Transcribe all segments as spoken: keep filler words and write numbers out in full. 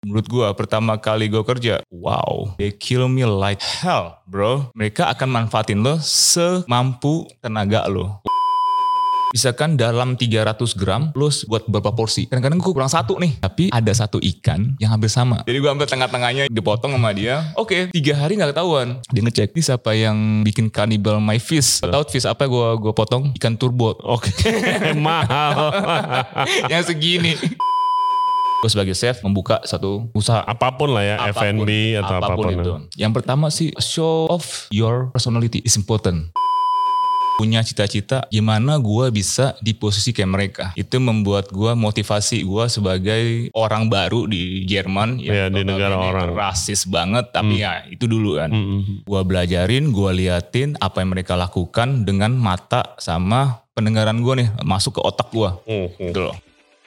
Menurut gue pertama kali gue kerja, wow, they kill me like hell, bro. Mereka akan manfaatin lo semampu tenaga lo. Misalkan dalam tiga ratus gram, lo buat berapa porsi. Kadang-kadang gue kurang satu nih, tapi ada satu ikan yang hampir sama. Jadi gue ambil tengah-tengahnya, dipotong sama dia. Oke, okay, tiga hari gak ketahuan. Dia ngecek, ini siapa yang bikin cannibal my fish. Tahu fish apa gue gue potong? Ikan turbo. Oke, okay. Mahal. Yang segini. Gue sebagai chef membuka satu usaha apapun lah ya, apapun, F and B atau apapun, apapun itu. Ya. Yang pertama sih show off your personality is important. Punya cita-cita gimana gue bisa di posisi kayak mereka. Itu membuat gue motivasi gue sebagai orang baru di Jerman. Ya, di negara orang. Rasis banget, tapi hmm. ya itu dulu kan. Hmm. Gue belajarin, gue liatin apa yang mereka lakukan dengan mata sama pendengaran gue nih. Masuk ke otak gue. Hmm. Gitu loh.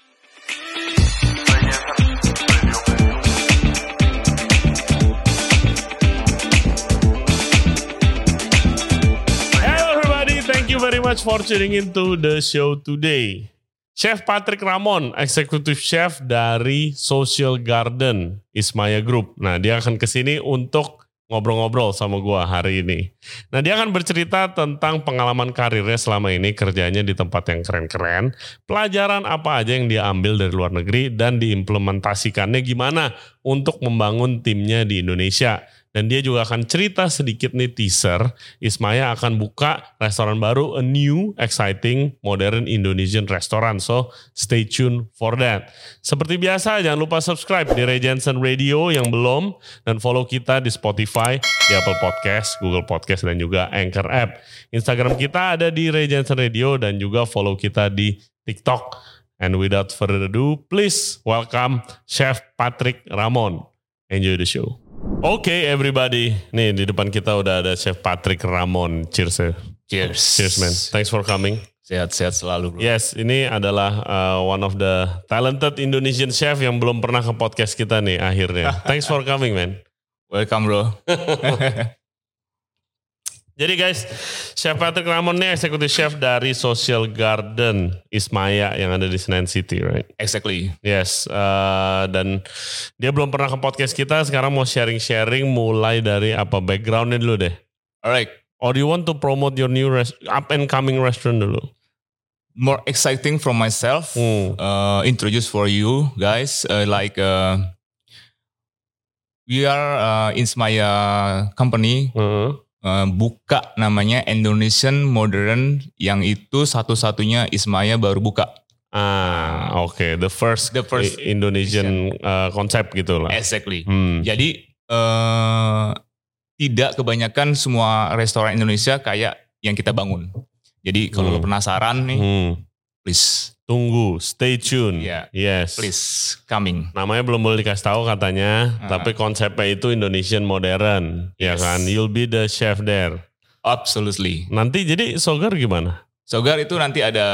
Very much for tuning into the show today. Chef Patrick Ramon, Executive Chef dari Social Garden Ismaya Group. Nah, dia akan kesini untuk ngobrol-ngobrol sama gua hari ini. Nah, dia akan bercerita tentang pengalaman karirnya selama ini, kerjanya di tempat yang keren-keren, pelajaran apa aja yang dia ambil dari luar negeri, dan diimplementasikannya gimana untuk membangun timnya di Indonesia. Dan dia juga akan cerita sedikit nih teaser, Ismaya akan buka restoran baru, a new, exciting, modern Indonesian restaurant. So, stay tuned for that. Seperti biasa, jangan lupa subscribe di Ray Jensen Radio yang belum, dan follow kita di Spotify, di Apple Podcast, Google Podcast, dan juga Anchor App. Instagram kita ada di Ray Jensen Radio, dan juga follow kita di TikTok. And without further ado, please welcome Chef Patrick Ramon. Enjoy the show. Oke okay, everybody, nih di depan kita udah ada Chef Patrick Ramon. Cheers ya. Cheers. Cheers man. Thanks for coming. Sehat-sehat selalu bro. Yes, ini adalah uh, one of the talented Indonesian chef yang belum pernah ke podcast kita nih akhirnya. Thanks for coming man. Welcome bro. Jadi guys, Chef Patrick Ramon nih executive chef dari Social Garden Ismaya yang ada di Senen City, right? Exactly. Yes, uh, dan dia belum pernah ke podcast kita, sekarang mau sharing-sharing mulai dari apa backgroundnya dulu deh. Alright. Or do you want to promote your new rest- up and coming restaurant dulu? More exciting from myself, hmm. uh, introduce for you guys, uh, like uh, we are uh, Ismaya company. Hmm. Uh, buka namanya Indonesian Modern, yang itu satu-satunya Ismaya baru buka. Ah, oke, okay. the first, the first Indonesian uh, konsep gitu lah. Exactly. Hmm. Jadi uh, tidak kebanyakan semua restoran Indonesia kayak yang kita bangun. Jadi kalau hmm. lo penasaran nih, hmm. please tunggu, stay tune. Yeah. Yes. Please coming. Namanya belum boleh dikasih tahu katanya, uh-huh. tapi konsepnya itu Indonesian modern, yes. ya kan? You'll be the chef there. Absolutely. Nanti jadi Sogar gimana? Sogar itu nanti ada.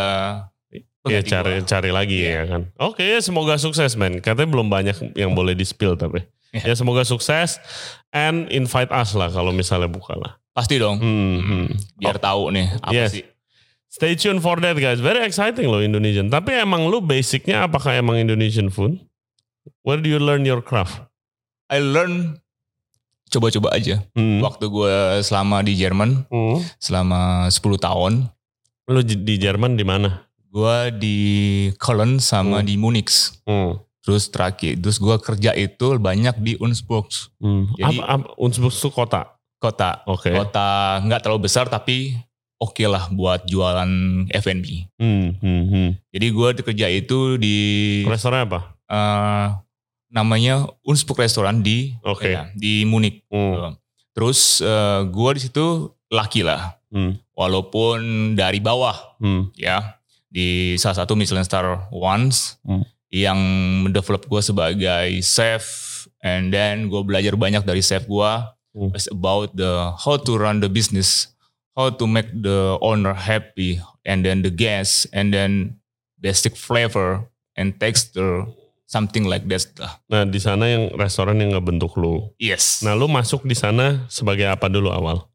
Ya cari cari lagi yeah. ya kan. Oke, okay, semoga sukses man. Katanya belum banyak yang boleh di spill tapi. Yeah. Ya semoga sukses and invite us lah kalau misalnya buka lah. Pasti dong. Hmm, hmm. Biar oh. tahu nih apa yes. sih. Stay tuned for that guys. Very exciting loh Indonesian. Tapi emang lu basicnya apakah emang Indonesian food? Where do you learn your craft? I learn coba-coba aja. Hmm. Waktu gue selama di Jerman, hmm. selama sepuluh tahun. Lu di Jerman di mana? Gue di Cologne sama hmm. di Munich. Hmm. Terus terakhir, terus gue kerja itu banyak di Unspruch. Hmm. Jadi apa, apa, Unspruch itu kota? Kota. Oke. Okay. Kota nggak terlalu besar tapi oke okay lah buat jualan F and B. Hmm, hmm, hmm. Jadi gue kerja itu di restoran apa? Uh, namanya Unspruch Restaurant di okay. ya, di Munich. Hmm. Terus uh, gue di situ laki lah, hmm. walaupun dari bawah, hmm. ya di salah satu Michelin Star Once hmm. yang mendevelop gue sebagai chef, and then gue belajar banyak dari chef gue. Hmm. It's about the how to run the business. How to make the owner happy, and then the guests, and then basic flavor and texture, something like that. Nah di sana yang restoran yang ngebentuk lu. Yes. Nah lu masuk di sana sebagai apa dulu awal?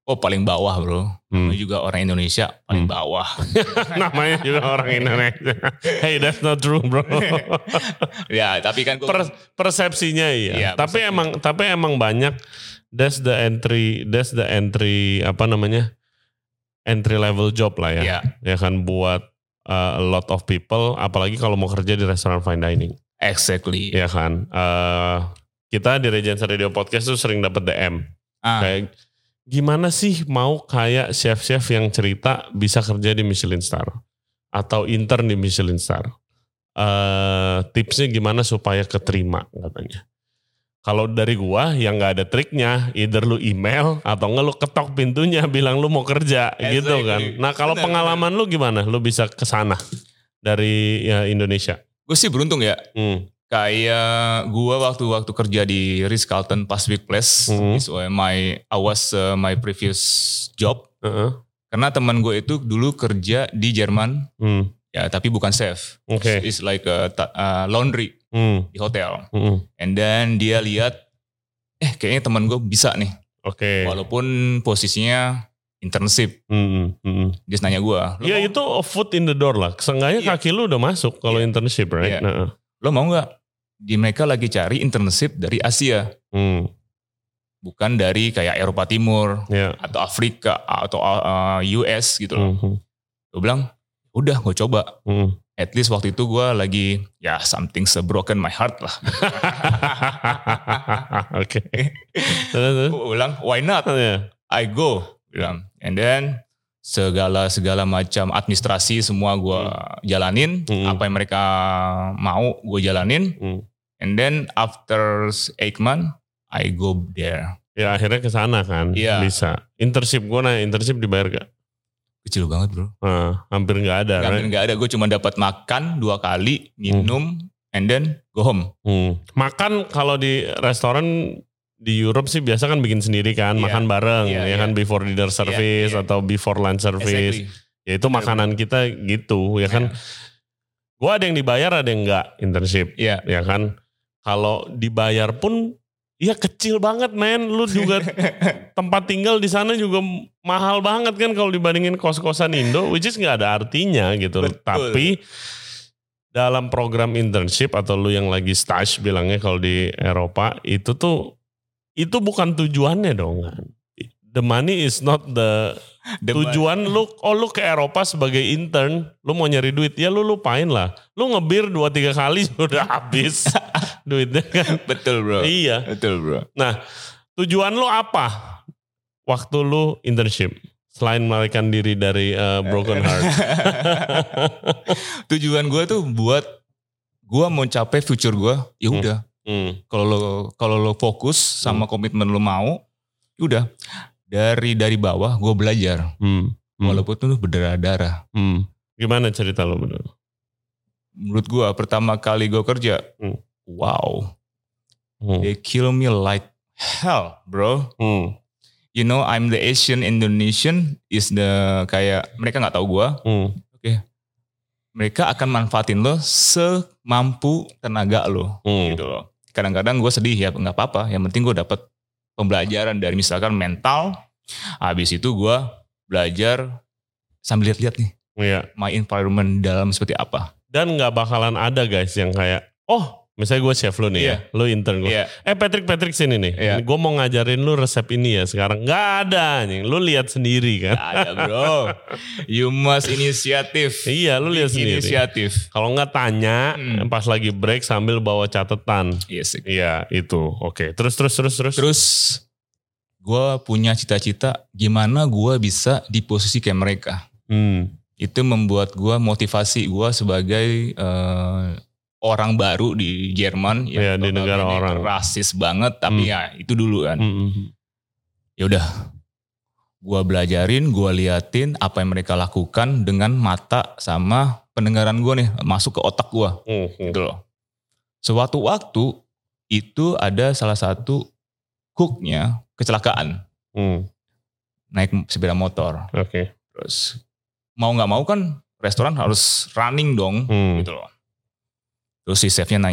Oh paling bawah bro. Hmm. Namanya juga orang Indonesia paling Hmm. bawah. Namanya juga orang Indonesia. Hey, that's not true bro. Ya tapi kan gue Per- persepsinya iya. Iya, tapi persepsinya. emang tapi emang banyak. That's the entry. That's the entry apa namanya? Entry level job lah ya. Iya. Ya kan buat uh, a lot of people. Apalagi kalau mau kerja di restoran fine dining. exactly. Ya kan. Uh, kita di Regency Radio Podcast tuh sering dapat D M. Ah, Kayak gimana sih mau kayak chef-chef yang cerita bisa kerja di Michelin Star atau intern di Michelin Star. Uh, tipsnya gimana supaya keterima katanya. Kalau dari gua yang nggak ada triknya, either lu email atau nggak lu ketok pintunya bilang lu mau kerja gitu Exactly. kan. Nah kalau Benar, pengalaman lu gimana? Lu bisa kesana dari ya, Indonesia. gue sih beruntung ya. Hmm. Kayak gua waktu-waktu kerja di Ritz-Carlton Pacific Place, Mhm. is where my I was uh, my previous job. Uh-uh. Karena teman gue itu dulu kerja di Jerman, Hmm. ya tapi bukan chef. Oke. It's like a ta- uh, laundry Hmm. di hotel. Hmm. And then dia lihat, eh kayaknya teman gue bisa nih. Oke. Walaupun posisinya internship. Hmm. Hmm. Dia nanya gue, lo, Ya mau- itu a foot in the door lah. Seenggaknya Iya. kaki lu udah masuk kalau Iya. internship, right? Iya. Nah. lo mau gak? Di mereka lagi cari internship dari Asia. Hmm. Bukan dari kayak Eropa Timur. Ya. Atau Afrika atau uh, U S gitu loh. Hmm. Gue bilang, udah gue coba. Hmm. At least waktu itu gue lagi, ya something's broken my heart lah. Oke. Terus, terus. Gue bilang, why not? Ya. I go. Bilang. And then segala segala macam administrasi semua gue jalanin. Hmm. Apa yang mereka mau gue jalanin. Hmm. And then after eight months, I go there. Ya akhirnya ke sana kan. Iya. Bisa. Internship gue nah internship dibayar gak? Kecil banget bro. Nah, hampir gak ada. Hampir Right? nggak ada. Gue cuma dapat makan dua kali, minum, and then go home. Hmm. Makan kalau di restoran di Europe sih biasa kan bikin sendiri kan, Iya. makan bareng, Iya, ya iya. kan service dinner service iya. atau before lunch service. Exactly. Ya itu Bener, makanan kita gitu, ya kan. Gua ada yang dibayar, ada yang enggak internship, Iya. ya kan. Kalau dibayar pun, ya kecil banget men. Lu juga tempat tinggal di sana juga mahal banget kan kalau dibandingin kos-kosan Indo, which is nggak ada artinya gitu. Betul. Tapi dalam program internship atau lu yang lagi stage bilangnya kalau di Eropa itu tuh itu bukan tujuannya dong kan. The money is not the, The tujuan lu. Oh lu ke Eropa sebagai intern, lu mau nyari duit ya lu lupain lah. Lu ngebir dua tiga kali sudah habis duitnya kan. Betul bro. Iya. Betul bro. Nah tujuan lu apa waktu lu internship selain melarikan diri dari uh, broken heart? Tujuan gue tuh buat gue mau capai future gue. Ya udah. Hmm. Kalau lo kalau lo fokus sama komitmen lo mau, ya udah. Dari dari bawah gue belajar. Hmm. Hmm. Walaupun tuh berdarah-darah. Hmm. Gimana cerita lo bener? Menurut gue pertama kali gue kerja, Hmm. wow, Hmm. they kill me like hell, bro. Hmm. You know, I'm the Asian Indonesian is the kayak mereka nggak tahu gue. Hmm. Mereka akan manfaatin lo semampu tenaga lo, Hmm. gitu loh. Kadang-kadang gue sedih ya, nggak apa-apa. Yang penting gue dapat pembelajaran dari misalkan mental. Habis itu gue belajar sambil lihat-lihat nih, Iya. my environment dalam seperti apa. Dan nggak bakalan ada guys yang kayak, oh misalnya gue chef lu nih Iya. ya, lu intern gue. Iya, Eh Patrick, Patrick sini nih, Iya. gue mau ngajarin lu resep ini ya sekarang. Nggak ada nih, lu lihat sendiri kan. nggak ada bro. You must inisiatif. Iya, lu lihat Bikin sendiri. Inisiatif. Kalau nggak tanya, Hmm. pas lagi break sambil bawa catatan. Yes. Iya itu, oke. Terus, terus, terus, terus. Terus gue punya cita-cita gimana gue bisa di posisi kayak mereka. Hmm. Itu membuat gue motivasi gue sebagai eh, orang baru di Jerman. Iya, di negara notabene orang. rasis banget, tapi Hmm. ya itu dulu kan. Hmm, hmm. Ya udah, gue belajarin, gue liatin apa yang mereka lakukan dengan mata sama pendengaran gue nih masuk ke otak gue, Hmm, hmm. gitu loh. Suatu waktu itu ada salah satu cooknya kecelakaan, Hmm. naik sepeda motor. Oke. Terus mau nggak mau kan restoran harus running dong, Hmm. gitu loh. Terus si chefnya nanya,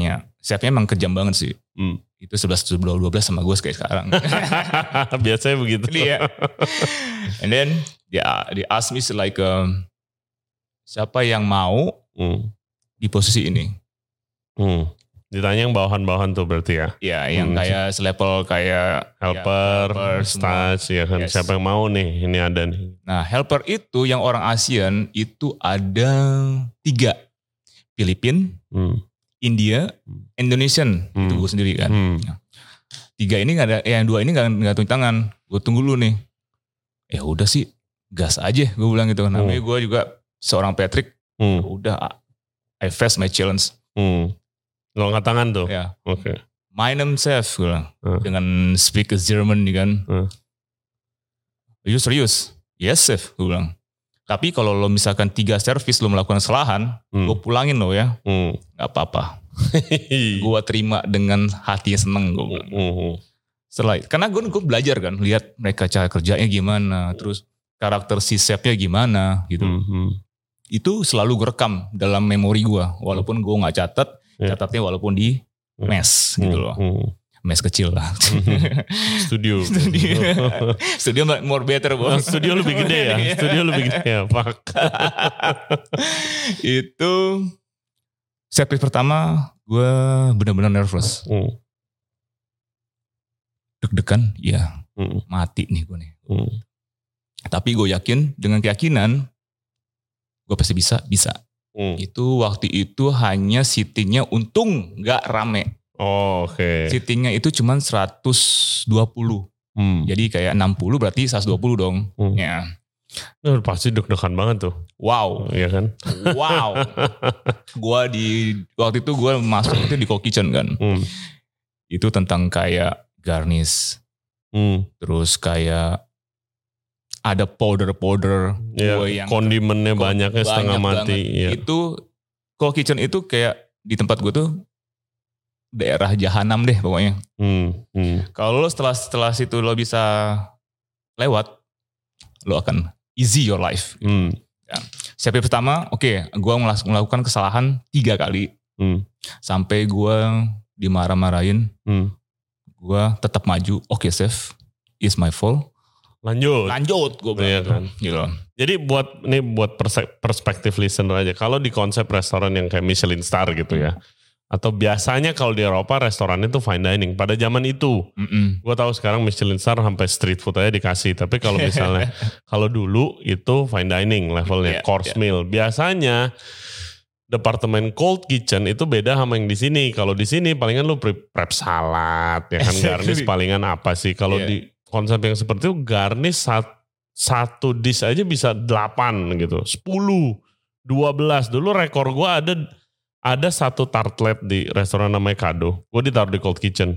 chefnya emang kejam banget sih. Hmm. Itu sebelas dua belas sama gue kayak sekarang. Biasanya begitu. Iya. And then yeah, they ask me like um, siapa yang mau hmm. di posisi ini. Hmm. Ditanya yang bawahan-bawahan tuh berarti ya? Iya, yang hmm. kayak selevel kayak helper, ya, stage, ya kan. Yes. Siapa yang mau nih? Ini ada nih. Nah, helper itu yang orang ASEAN itu ada tiga. Filipina, hmm. India, Indonesian. Hmm. Itu gue sendiri kan. Hmm. Tiga ini gak ada, eh, yang dua ini gak, gak tunggu tangan. Gue tunggu dulu nih. Ya udah sih, gas aja gue bilang gitu. Namanya hmm. gue juga seorang Patrick. Hmm. Udah, I face my challenge. Hmm. Lo angkat tangan tuh? Ya. Oke. Okay. My name chef, gue bilang. Hmm. Dengan speak German nih kan. Hmm. Are you serious? Yes, chef, gue bilang. Tapi kalau lo misalkan tiga servis lo melakukan kesalahan, hmm. gue pulangin lo ya. Hmm. Gak apa-apa. Gue terima dengan hati seneng. Gue bilang. Hmm. Setelah, karena gue, gue belajar kan. Lihat mereka cara kerjanya gimana. Terus karakter si chefnya gimana gitu. Hmm. Itu selalu gue rekam dalam memori gue. Walaupun gue gak catat. Yeah. Catatnya walaupun di mes hmm. gitu loh. Hmm. Mes kecil lah. Studio. Studio. Studio more better. Oh, studio lebih gede ya? Studio lebih gede ya? Pak. Itu servis pertama gue benar-benar nervous. Hmm. Deg-degan, ya hmm. mati nih gue nih. Hmm. Tapi gue yakin dengan keyakinan gue pasti bisa, bisa. Hmm. Itu waktu itu hanya seatingnya untung gak rame. Oh, oke. Okay. Seatingnya itu cuma seratus dua puluh. Hmm. Jadi kayak enam puluh berarti seratus dua puluh dong. Hmm. Ya. Nah, pasti deg-degan banget tuh. Wow. Iya kan? Wow. Gua di waktu itu gue masuk itu di Cold Kitchen kan. Hmm. Itu tentang kayak garnish. Hmm. Terus kayak ada powder-powder. Ya, yang kondimennya banyaknya setengah banyak mati. Ya. Itu Cold Kitchen itu kayak di tempat gue tuh daerah jahanam deh pokoknya. Hmm, hmm. Kalau lo setelah setelah situ lo bisa lewat, lo akan easy your life. Hmm. Ya. Servis pertama, oke, okay, gue melakukan kesalahan tiga kali. Hmm. Sampai gue dimarah-marahin. Hmm. Gue tetap maju. Oke, okay, chef, it's my fault. Lanjut. Lanjut gue bilang. Iya kan. Gitu. Jadi buat ini buat perspektif listener aja. Kalau di konsep restoran yang kayak Michelin Star gitu ya. Atau biasanya kalau di Eropa restoran itu fine dining. Pada zaman itu. Gue tahu sekarang Michelin Star sampai street food aja dikasih. Tapi kalau misalnya kalau dulu itu fine dining levelnya. Yeah, course yeah. meal. Biasanya departemen cold kitchen itu beda sama yang di sini. Kalau di sini palingan lu prep salad. Ya kan garnish palingan apa sih. Kalau yeah. di konsep yang seperti itu garnish satu, satu dish aja bisa delapan gitu. sepuluh, dua belas. Dulu rekor gue ada ada satu tartlet di restoran namanya Kado. Gue ditaruh di Cold Kitchen.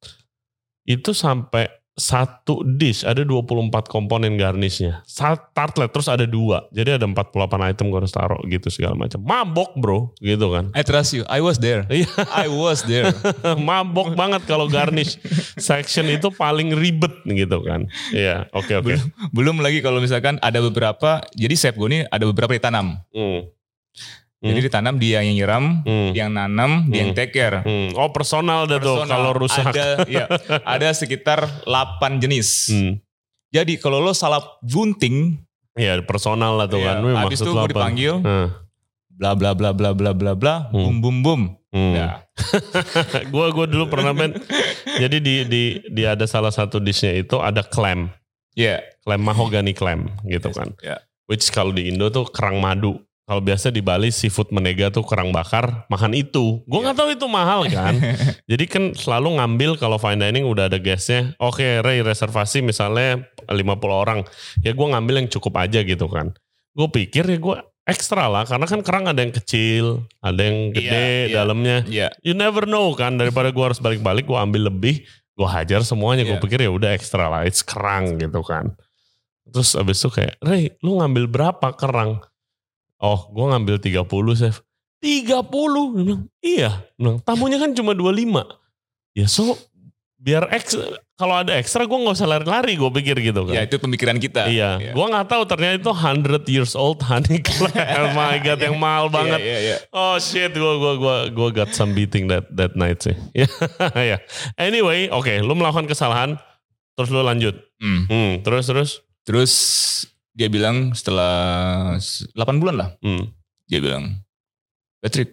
Itu sampai satu dish ada dua puluh empat komponen garnishnya. Satu tartlet terus ada dua. Jadi ada empat puluh delapan item gue harus taruh gitu segala macam. Mabok bro gitu kan. I trust you. I was there. I was there. Mabok banget kalau garnish section itu paling ribet gitu kan. Iya oke okay, oke. Okay. Belum, belum lagi kalau misalkan ada beberapa. Jadi chef gue ini ada beberapa ditanam. Hmm. Jadi hmm. ditanam dia yang nyiram, hmm. yang nanam, hmm. dia yang take care. Hmm. Oh personal dah tuh kalau rusak. Ada, ya, ada sekitar delapan jenis. Hmm. Jadi kalau lo salah bunting. Ya personal lah tuh ya, kan. Habis itu gue dipanggil. Hmm. Bla bla bla bla bla bla bla. Hmm. Bum bum bum. Hmm. Ya. Gue gue dulu pernah men. Jadi di, di, di ada salah satu dishnya itu ada clam. Ya. Yeah. Clam mahogany clam gitu yes. kan. Yeah. Which kalau di Indo tuh kerang madu. Kalau biasa di Bali seafood menega tuh kerang bakar, makan itu. Gue nggak tahu itu mahal kan. Jadi kan selalu ngambil kalau fine dining udah ada guestnya. Oke, okay, Ray reservasi misalnya lima puluh orang. Ya gue ngambil yang cukup aja gitu kan. Gue pikir ya gue ekstra lah. Karena kan kerang ada yang kecil, ada yang gede yeah, yeah, dalamnya. Yeah. You never know kan. Daripada gue harus balik-balik, gue ambil lebih. Gue hajar semuanya. Yeah. Gue pikir ya udah ekstra lah. It's kerang gitu kan. Terus abis itu kayak, Ray lu ngambil berapa kerang? Oh, gue ngambil tiga puluh, chef. tiga puluh? Dia bilang, iya. Dia bilang, tamunya kan cuma dua puluh lima. Ya so, biar X kalau ada ekstra gue nggak usah lari-lari, gue pikir gitu kan. Ya itu pemikiran kita. Iya, ya. Gue nggak tahu ternyata itu one hundred years old honey club. Oh my god, yang mahal banget. Iya, iya, iya. Oh shit, gue gue gue gue got some beating that that night sih. Ya. Anyway, oke, okay, lu melakukan kesalahan, terus lu lanjut. Hmm. Hmm, terus terus. Terus dia bilang setelah delapan bulan lah, Hmm. dia bilang, Patrick,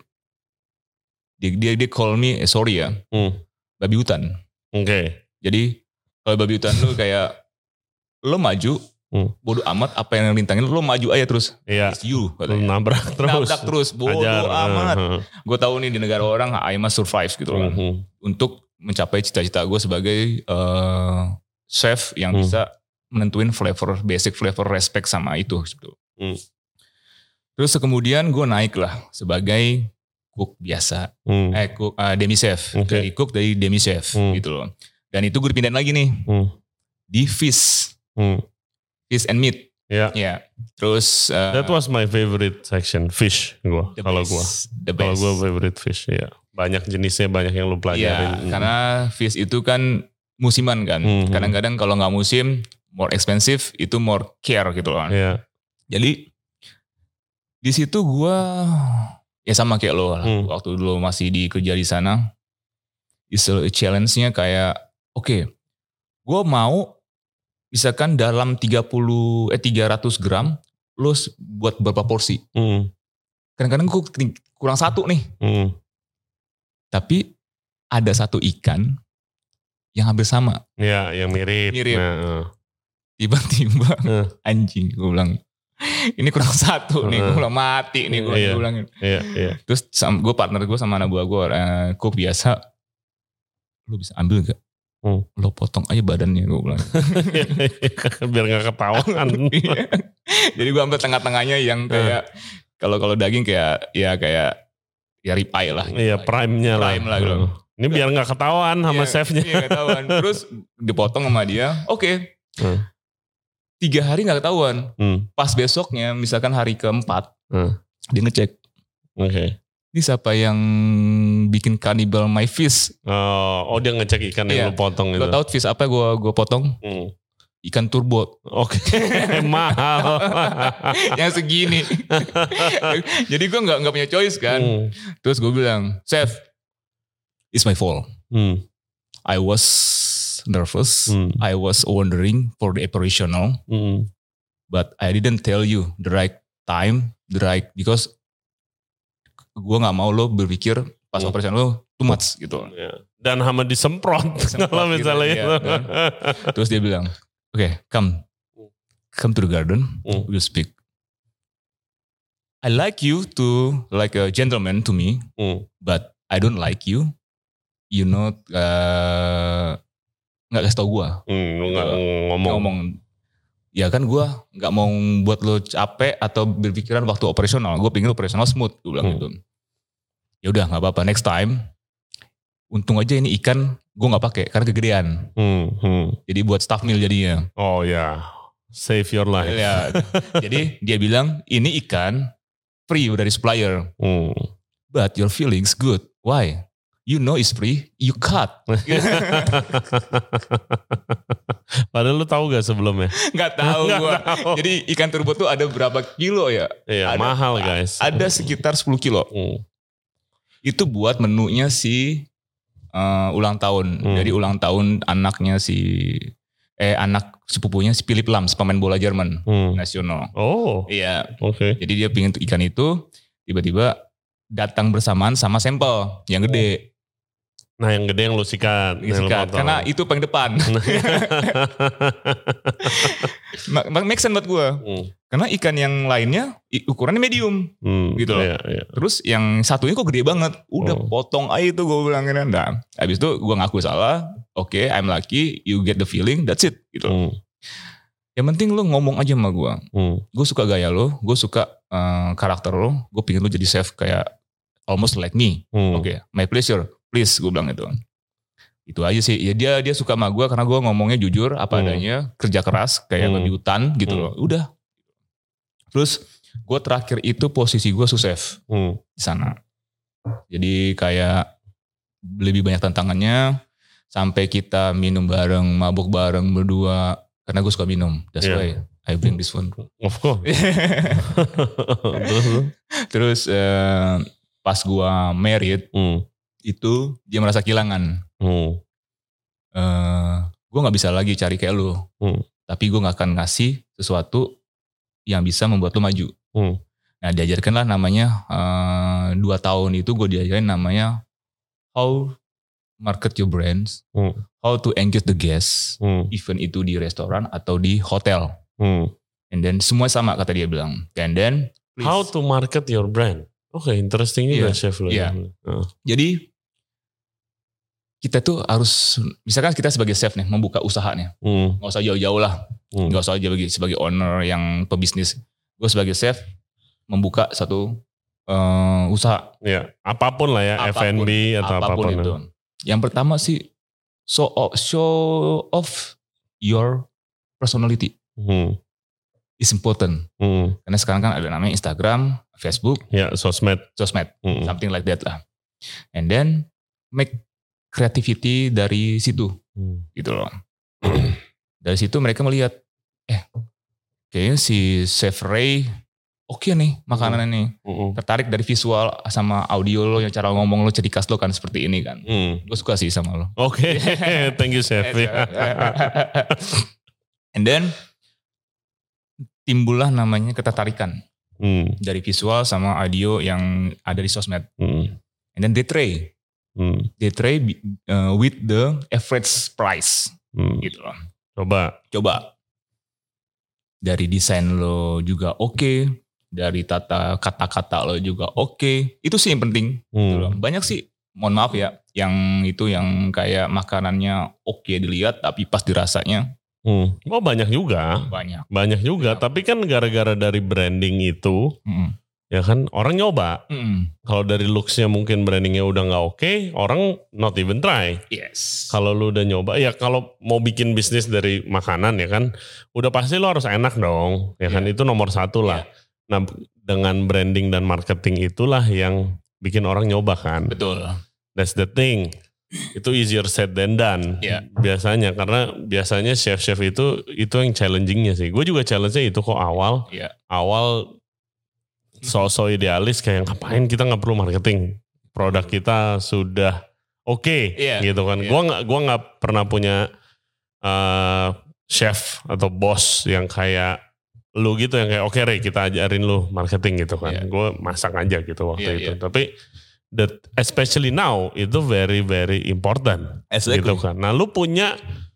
dia dia dia call me, eh, sorry ya, Hmm. babi hutan. Oke. Okay. Jadi kalau babi hutan lu kayak lo maju, Hmm. bodo amat apa yang rintangin, lo maju aja terus. Iya. It's you. Lu nabrak terus. Nabrak terus, bodo Ajar. amat. Uh-huh. Gue tahu nih di negara orang I must survive gitu kan. Uh-huh. Untuk mencapai cita-cita gue sebagai uh, chef yang Hmm. bisa menentuin flavor, basic flavor respect sama itu. Gitu. Hmm. Terus kemudian gue naik lah sebagai cook biasa. Hmm. Eh cook, uh, demi chef. Okay. Dari cook dari demi chef Hmm. gitu loh. Dan itu gue dipindahin lagi nih. Hmm. Di fish. Hmm. Fish and meat. Ya. Ya. Yeah. Terus. Uh, That was my favorite section, fish. Gua kalau gua. The Kalau best. gua favorite fish, ya. Banyak jenisnya, banyak yang lu Iya, pelajarin. Hmm. karena fish itu kan musiman kan. Hmm. Kadang-kadang kalau nggak musim, more expensive, itu more care gitu kan. Iya. Jadi di situ gue ya sama kayak lo lah. Hmm. Waktu dulu masih di kerja di sana, istilah challenge-nya kayak oke, okay, gue mau misalkan dalam tiga puluh eh tiga ratus gram lo buat berapa porsi. Hmm. Kadang-kadang gue kurang satu nih. Hmm. Tapi ada satu ikan yang hampir sama. Ya, yang mirip. Mirip. Nah, uh. Tiba-tiba Uh. anjing gue bilang ini kurang satu nih, gue bilang mati nih gue Iya. bilang. Iya, iya. Terus gue partner gue sama anak buah gue, uh, cook biasa, lo bisa ambil gak? Hmm. Lo potong aja badannya, gue bilang. Biar gak ketahuan. Jadi gue ambil tengah-tengahnya yang kayak kalau kalau daging kayak ya kayak ya rib eye lah. Iya, prime-nya lah. Prime lah gitu. Ini biar gak ketahuan sama Iya, chefnya. Iya, gak ketahuan. Terus dipotong sama dia, oke. Okay. Hmm. Tiga hari gak ketahuan. Hmm. Pas besoknya, misalkan hari keempat, Hmm. dia ngecek. Oke. Okay. Ini siapa yang bikin cannibal my fish? Oh, oh dia ngecek ikan yang Iya. lu potong itu. Lo tau fish apa gue gue potong? Hmm. Ikan turbot. Oke, okay. Mahal. Yang segini. Jadi gue gak, gak punya choice kan. Hmm. Terus gue bilang, chef, it's my fault. Hmm. I was nervous. Hmm. I was wondering for the operational. Hmm. But I didn't tell you the right time, the right, because gue gak mau lo berpikir pas Hmm. operasional lo too much gitu. Ya. Dan hama disemprot. Disemprot Kalau gitu, misalnya iya, itu. kan. Terus dia bilang, oke, okay, come. Come to the garden, Hmm. we'll speak. I like you to, like a gentleman to me, Hmm. but I don't like you. You know, uh, gak kasih tau gue. Hmm, lu gak ngomong. Ngomong. Ya kan gue gak mau buat lo capek atau berpikiran waktu operasional. Gue pengen operasional smooth, gue bilang Hmm. gitu. Ya udah gak apa-apa, next time. Untung aja ini ikan gue gak pakai karena kegedean. Hmm. Hmm. Jadi buat staff meal jadinya. Oh ya, save your life. Ya, jadi dia bilang ini ikan free dari supplier. Hmm. But your feelings good. Why? You know it's free, you cut. Padahal lu tahu gak sebelumnya? Gak tahu Nggak gue. tahu. Jadi ikan turbot tuh ada berapa kilo ya? Iya, Ada- mahal guys. Ada sekitar sepuluh kilo. Hmm. Itu buat menunya si uh, ulang tahun. Hmm. Jadi ulang tahun anaknya si eh anak sepupunya si Philip Lams, pemain bola Jerman Hmm. nasional. Oh, Iya. oke. Jadi dia pingin ikan itu, tiba-tiba datang bersamaan sama sampel yang gede. Nah yang gede yang lu sikat. yang lu Sikat. potong. Karena itu paling depan. Ma- ma- Make sense buat gue. Hmm. Karena ikan yang lainnya i- ukurannya medium. Hmm, Gitu loh. Iya, iya. Terus yang satunya kok gede banget. Udah Oh. potong aja itu gue bilang. Nah, habis itu gue ngaku salah. Oke, okay, I'm lucky. You get the feeling. That's it. Gitu. Hmm. Yang penting lu ngomong aja sama gue. Hmm. Gue suka gaya lo. Gue suka uh, karakter lo. Gue pengen lo jadi chef kayak almost like me. Hmm. Oke, okay, my pleasure. Please, gue bilang itu. Itu aja sih. Ya dia dia suka sama gue karena gue ngomongnya jujur apa Hmm. adanya, kerja keras kayak Hmm. babi hutan gitu Hmm. loh. Udah. Terus gue terakhir itu posisi gue sous-chef Hmm. di sana. Jadi kayak lebih banyak tantangannya. Sampai kita minum bareng, mabuk bareng berdua. Karena gue suka minum. That's Yeah. why I bring this one. Of course. Terus uh, pas gue married, Hmm. itu dia merasa kehilangan. Hmm. Uh, gue gak bisa lagi cari kayak lu. Hmm. Tapi gue gak akan ngasih sesuatu yang bisa membuat lu maju. Hmm. Nah diajarkanlah namanya, uh, dua tahun itu gue diajarin namanya how market your brands, Hmm. how to engage the guests, Hmm. even itu di restoran atau di hotel. Hmm. And then semua sama kata dia bilang. And then please. How to market your brand. Oke, okay, interesting juga Yeah. chef lo. Yeah. Uh. Jadi kita tuh harus, misalkan kita sebagai chef nih membuka usaha nih, Hmm. nggak usah jauh-jauh lah, Hmm. nggak usah sebagai sebagai owner yang pebisnis. Gue sebagai chef membuka satu uh, usaha. Ya, apapun lah ya, Apapun, F and B atau apapun. apapun itu. Yang pertama sih show off, show off your personality Hmm. is important. Hmm. Karena sekarang kan ada namanya Instagram, Facebook, Ya, sosmed. sosmed, Hmm. something like that lah. And then make creativity dari situ, Hmm. gitu loh. Dari situ mereka melihat, eh, kayaknya si Chef Ray oke nih makanan ini. Hmm. Tertarik dari visual sama audio lo, yang cara ngomong lo, cedikas lo kan seperti ini kan. Hmm. Gue suka sih sama lo. Oke, okay. Thank you chef. And then timbullah namanya ketertarikan Hmm. dari visual sama audio yang ada di sosmed. Hmm. And then they try, Hmm. they try uh, with the average price, Hmm. gitu loh. Coba. Coba dari desain lo juga oke, dari tata kata-kata lo juga oke. Itu sih yang penting. Gitu loh. Hmm. Banyak sih, mohon maaf ya, yang itu yang kayak makanannya oke dilihat, tapi pas dirasanya Hmm. Oh banyak juga, banyak. banyak juga. Ya. Tapi kan gara-gara dari branding itu, Mm-mm. ya kan orang nyoba. Mm-mm. Kalau dari looksnya mungkin brandingnya udah nggak oke, orang not even try. Yes. Kalau lu udah nyoba, ya kalau mau bikin bisnis dari makanan ya kan, udah pasti lu harus enak dong, ya kan Yeah. itu nomor satu lah. Yeah. Nah dengan branding dan marketing itulah yang bikin orang nyoba kan. Betul. That's the thing. Itu easier said than done. Yeah. Biasanya karena biasanya chef-chef itu itu yang challengingnya sih. Gue juga challenge-nya itu kok awal. Yeah. Awal so-so idealis kayak ngapain kita nggak perlu marketing. Produk kita sudah oke okay, Yeah. gitu kan. Yeah. Gue nggak gua nggak pernah punya uh, chef atau bos yang kayak lu gitu yang kayak oke okay, Ray kita ajarin lu marketing gitu kan. Yeah. Gue masak aja gitu waktu Yeah, itu. yeah. Tapi that especially now itu very very important Exactly. gitu kan. Nah lu punya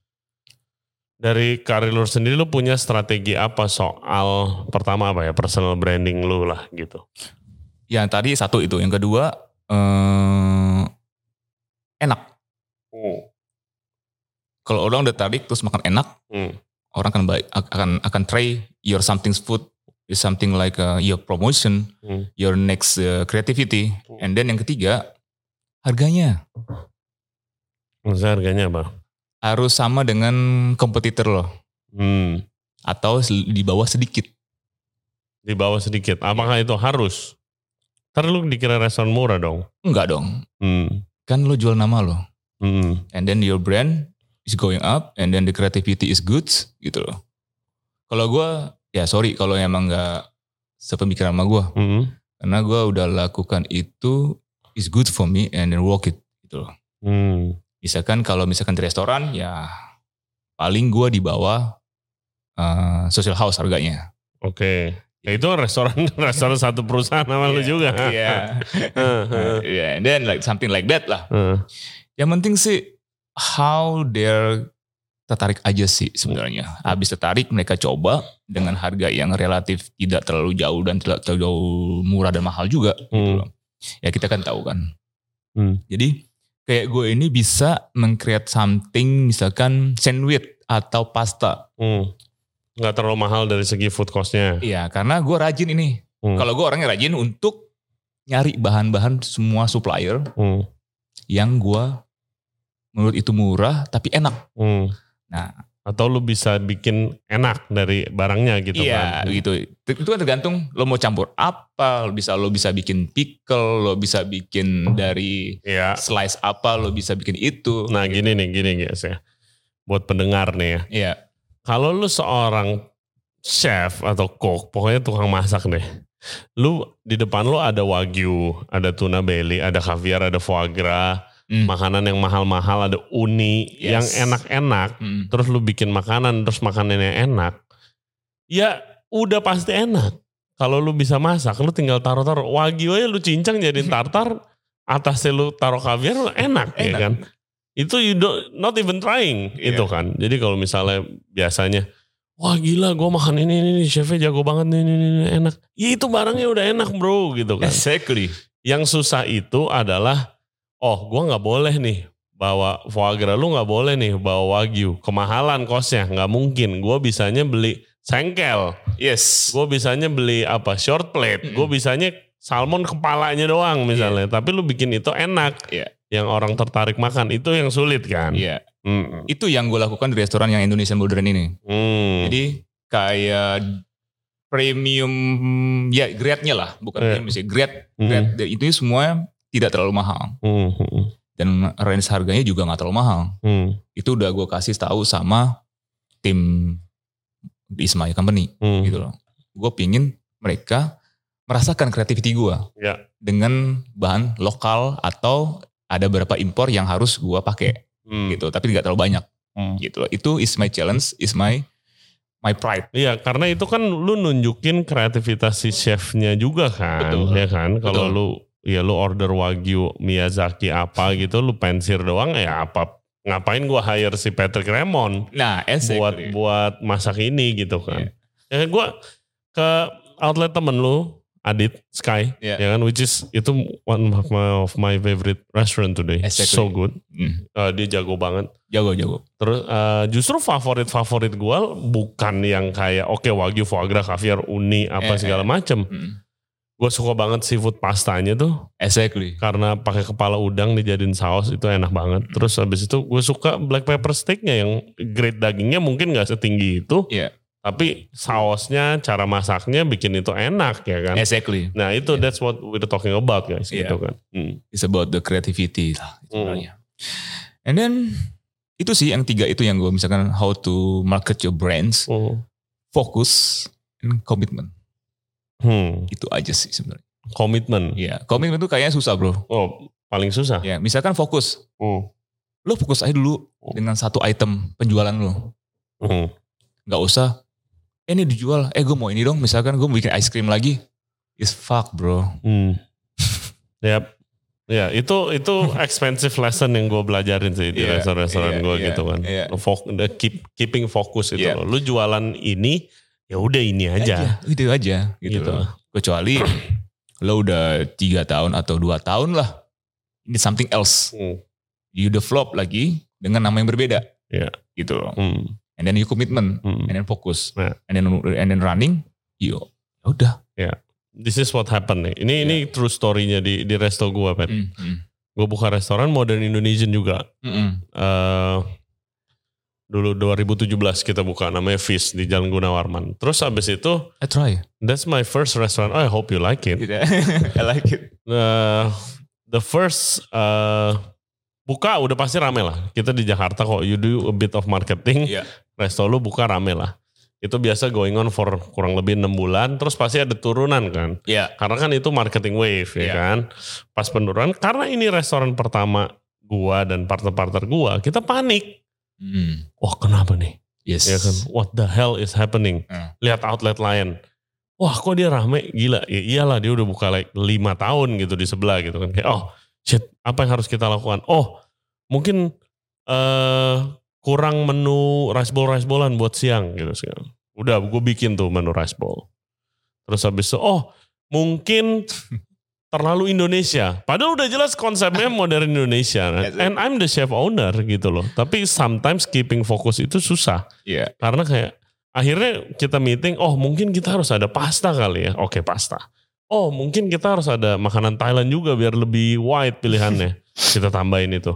dari karir lu sendiri lu punya strategi apa soal pertama apa ya personal branding lu lah gitu. Yang tadi satu itu, yang kedua eh, enak. Hmm. Kalau orang udah tarik terus makan enak, Hmm. orang akan baik, akan akan try your something food is something like uh, your promotion, Hmm. your next uh, creativity, and then yang ketiga harganya Maksudnya harganya apa? harus sama dengan kompetitor lo Hmm. atau di bawah sedikit. Di bawah sedikit. Apakah itu harus? Ntar lu dikira restoran murah dong. Enggak dong, Hmm. kan lo jual nama lo, Hmm. and then your brand is going up, and then the creativity is good, gitu loh. Kalau gue, ya sorry kalau emang nggak sepemikiran sama gue, Hmm. karena gue udah lakukan itu is good for me and then work it, gitu loh. Hmm. Misalkan kalau misalkan di restoran, ya paling gue di bawah uh, social house harganya. Oke. Ya itu restoran restoran satu perusahaan sama lu juga. Iya. Yeah, and then like something like that lah. Hmm. Yang penting sih how they're tertarik aja sih sebenarnya. Habis tertarik mereka coba dengan harga yang relatif tidak terlalu jauh dan tidak terlalu murah dan mahal juga. Gitu Hmm. loh. Ya kita kan tahu kan. Hmm. Jadi kayak gue ini bisa meng-create something misalkan sandwich atau pasta. Hmm. Nggak terlalu mahal dari segi food cost-nya. Iya karena gue rajin ini. Hmm. Kalau gue orangnya rajin untuk nyari bahan-bahan semua supplier Hmm. yang gue menurut itu murah tapi enak. Hmm. Nah Atau lu bisa bikin enak dari barangnya gitu iya, kan. Iya gitu. Itu kan tergantung lo mau campur apa. Lo bisa lo bisa bikin pickle, lo bisa bikin dari Iya. slice apa, lo bisa bikin itu. Nah gitu. gini nih, gini guys ya. Buat pendengar nih ya. Iya. Kalau lu seorang chef atau cook, pokoknya tukang masak deh. Lu di depan lu ada wagyu, ada tuna belly, ada caviar, ada foie gras. Mm. Makanan yang mahal-mahal, ada uni, yes. yang enak-enak, mm. terus lu bikin makanan, terus makanannya enak, ya udah pasti enak. Kalau lu bisa masak, lu tinggal taruh-taruh, wagyu aja lu cincang jadiin tartar, atasnya lu taruh kaviar, enak, enak. Ya kan. Itu you don't, not even trying, yeah. itu kan. Jadi kalau misalnya biasanya, wah gila gue makan ini, ini, ini chefnya jago banget, ini, ini, ini, enak. Ya itu barangnya udah enak bro, gitu kan. Exactly. Yang susah itu adalah, oh gue gak boleh nih bawa foie gras, lu gak boleh nih bawa wagyu. Kemahalan kosnya, gak mungkin. Gue bisanya beli sengkel. Yes. Gue bisanya beli apa short plate. Mm-hmm. Gue bisanya salmon kepalanya doang misalnya. Yeah. Tapi lu bikin itu enak. Yeah. Yang orang tertarik makan. Itu yang sulit kan. Iya. Yeah. Mm-hmm. Itu yang gue lakukan di restoran yang Indonesian Modern ini. Mm. Jadi kayak premium, ya grade-nya lah. Bukan yeah. premium sih. Grade. grade mm-hmm. Itu semua tidak terlalu mahal. Hmm. Dan range harganya juga gak terlalu mahal. Hmm. Itu udah gue kasih tahu sama tim di Ismaya Company. Hmm. Gitu loh. Gue pingin mereka merasakan creativity gue. Ya. Dengan bahan lokal atau ada beberapa impor yang harus gue pakai. Hmm. Gitu. Tapi gak terlalu banyak. Hmm. Gitu loh. Itu is my challenge, is my my pride. Iya, karena itu kan lu nunjukin kreativitas si chefnya juga kan. Betul. Ya kan. Kalau lu ya lu order wagyu Miyazaki apa gitu, lu pensir doang ya apa, ngapain gua hire si Patrick Ramon nah, exactly. buat buat masak ini gitu kan. Yeah. Ya gua ke outlet temen lu, Adit Sky, yeah. ya kan, which is itu one of my, of my favorite restaurant today. Exactly. So good. Mm. Uh, dia jago banget. Jago-jago. Terus uh, justru favorit-favorit gua bukan yang kayak oke okay, wagyu, foie gras, caviar, uni apa eh, segala eh. macem. Mm. Gue suka banget seafood pastanya tuh. Exactly. Karena pakai kepala udang dijadiin saus itu enak banget. Terus habis itu gue suka black pepper steaknya yang grade dagingnya mungkin gak setinggi itu. Iya. Yeah. Tapi sausnya, cara masaknya bikin itu enak ya kan. Exactly. Nah itu yeah. that's what we're talking about guys. Yeah. Gitu kan. Hmm. It's about the creativity lah sebenarnya. Hmm. And then itu sih yang tiga itu yang gue misalkan how to market your brands. Hmm. Focus and commitment. Hmm. Itu aja sih sebenarnya. Komitmen. Iya, komitmen itu kayaknya susah bro. Oh, paling susah. Ya, misalkan fokus. Hmm. Lo fokus aja dulu hmm. dengan satu item penjualan lo. Hmm. Gak usah. Eh ini dijual. Eh gue mau ini dong. Misalkan gue bikin ice cream lagi. Is fuck bro. Hmm. Yap. Ya itu itu expensive lesson yang gue belajarin sih di yeah, restoran-restoran yeah, gue yeah, gitu kan. Yeah. Fok, keep, keeping fokus itu yeah. loh. Lu jualan ini. Ya udah ini aja. aja. Itu aja gitu. gitu. Kecuali lo udah tiga tahun atau dua tahun lah. Ini something else. Hmm. You develop lagi dengan nama yang berbeda. Yeah. Gitu loh. Hmm. And then you commitment. Hmm. And then fokus. Yeah. And then and then running. Yo, udah. Ya. Yeah. This is what happened nih. Ini yeah. ini true story-nya di di resto gue, Pat. Mm, mm. Gue buka restoran modern Indonesian juga. Mm -mm. Uh, Dulu dua ribu tujuh belas kita buka namanya Fish di Jalan Gunawarman. Terus abis itu I try. That's my first restaurant. Oh, I hope you like it. I like it. Uh, the first uh, buka udah pasti rame lah. Kita di Jakarta kok you do a bit of marketing. Yeah. Resto lu buka rame lah. Itu biasa going on for kurang lebih enam bulan. Terus pasti ada turunan kan. Yeah. Karena kan itu marketing wave ya yeah. kan. Pas penurunan karena ini restoran pertama gua dan partner-partner gua, kita panik. Hmm. Wah kenapa nih? Yes. Ya kan? What the hell is happening? Hmm. Lihat outlet lain. Wah kok dia rame? Gila. Ya iyalah dia udah buka like lima tahun gitu di sebelah gitu kan. Kayak oh shit apa yang harus kita lakukan? Oh mungkin uh, kurang menu rice bowl rice bowlan buat siang gitu sekarang. Udah gue bikin tuh menu rice bowl. Terus habis itu oh mungkin terlalu Indonesia. Padahal udah jelas konsepnya modern Indonesia. And I'm the chef owner gitu loh. Tapi sometimes keeping fokus itu susah. Yeah. Karena kayak akhirnya kita meeting, oh mungkin kita harus ada pasta kali ya. Oke pasta. Oh mungkin kita harus ada makanan Thailand juga biar lebih wide pilihannya. Kita tambahin itu.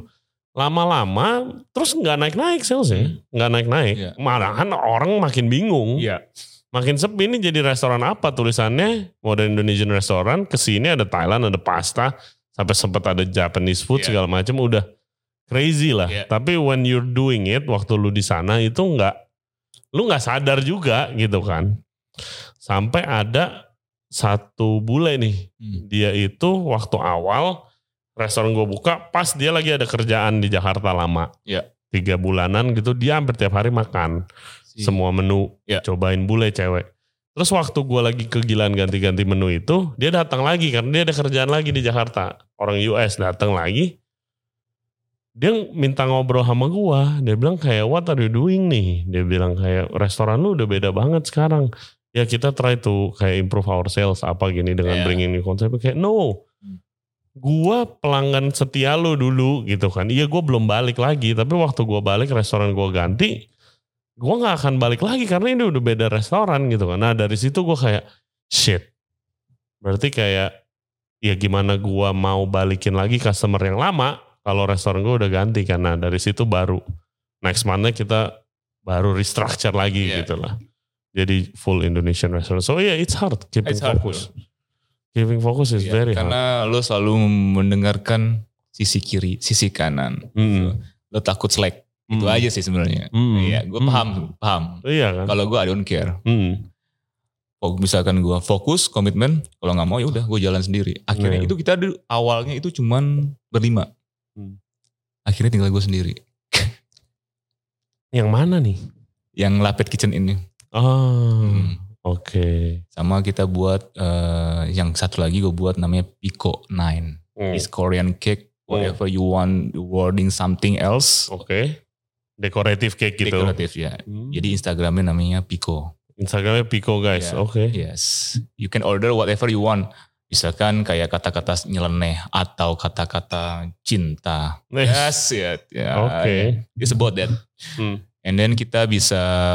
lama-lama terus nggak naik-naik salesnya, nggak naik-naik. Iya. Malahan orang makin bingung. Iya. Makin sepi, ini jadi restoran apa tulisannya? Modern Indonesian Restaurant, kesini ada Thailand, ada pasta, sampai sempat ada Japanese food Yeah. segala macam, udah crazy lah. Yeah. Tapi when you're doing it, waktu lu di sana itu nggak, lu nggak sadar juga gitu kan. Sampai ada satu bule nih, Hmm. dia itu waktu awal restoran gue buka, pas dia lagi ada kerjaan di Jakarta lama, Yeah. tiga bulanan gitu, dia hampir tiap hari makan. Si- Semua menu, Ya. cobain bule cewek. Terus waktu gue lagi kegilaan ganti-ganti menu itu, dia datang lagi karena dia ada kerjaan lagi di Jakarta. Orang U S datang lagi, dia minta ngobrol sama gue. Dia bilang kayak, what are you doing nih? Dia bilang kayak, restoran lu udah beda banget sekarang. Ya kita try to kayak improve our sales apa gini dengan Ya. bringing new konsep. Kayak no, gua pelanggan setia lu dulu gitu kan. Iya gue belum balik lagi, tapi waktu gue balik restoran gue ganti, gue nggak akan balik lagi karena ini udah beda restoran gitu kan. Nah dari situ gue kayak shit, berarti kayak ya gimana gue mau balikin lagi customer yang lama kalau restoran gue udah ganti. Karena dari situ baru next month kita baru restructure lagi Yeah. gitu lah. Jadi full Indonesian restaurant. So yeah, it's hard keeping It's hard, focus. Keeping focus is Iya, very hard. karena lo selalu mendengarkan sisi kiri, sisi kanan. Mm. Lo takut slack. Itu Mm. aja sih sebenarnya. Mm. Iya, gue Mm. paham, paham. Iya kan. Kalau gue I don't care. Mm. Oh, misalkan gue fokus, komitmen, kalau nggak mau ya udah gue jalan sendiri. Akhirnya Iya. itu kita dulu awalnya itu cuman berlima. Hmm. Akhirnya tinggal gue sendiri. Yang mana nih? Yang Lapet Kitchen ini. Oh, Hmm. oke. Sama kita buat eh, yang satu lagi gue buat namanya Pico Nine. Hmm. It's Korean cake. Whatever you want, wording something else. Oke. Dekoratif cake gitu. Dekoratif ya. Hmm. Jadi Instagramnya namanya Pico. Instagramnya Pico guys. Yeah. Oke. Yes. You can order whatever you want. Misalkan kayak kata-kata nyeleneh atau kata-kata cinta. Yes, ya. ya. Oke. It's about that. Hmm. And then kita bisa,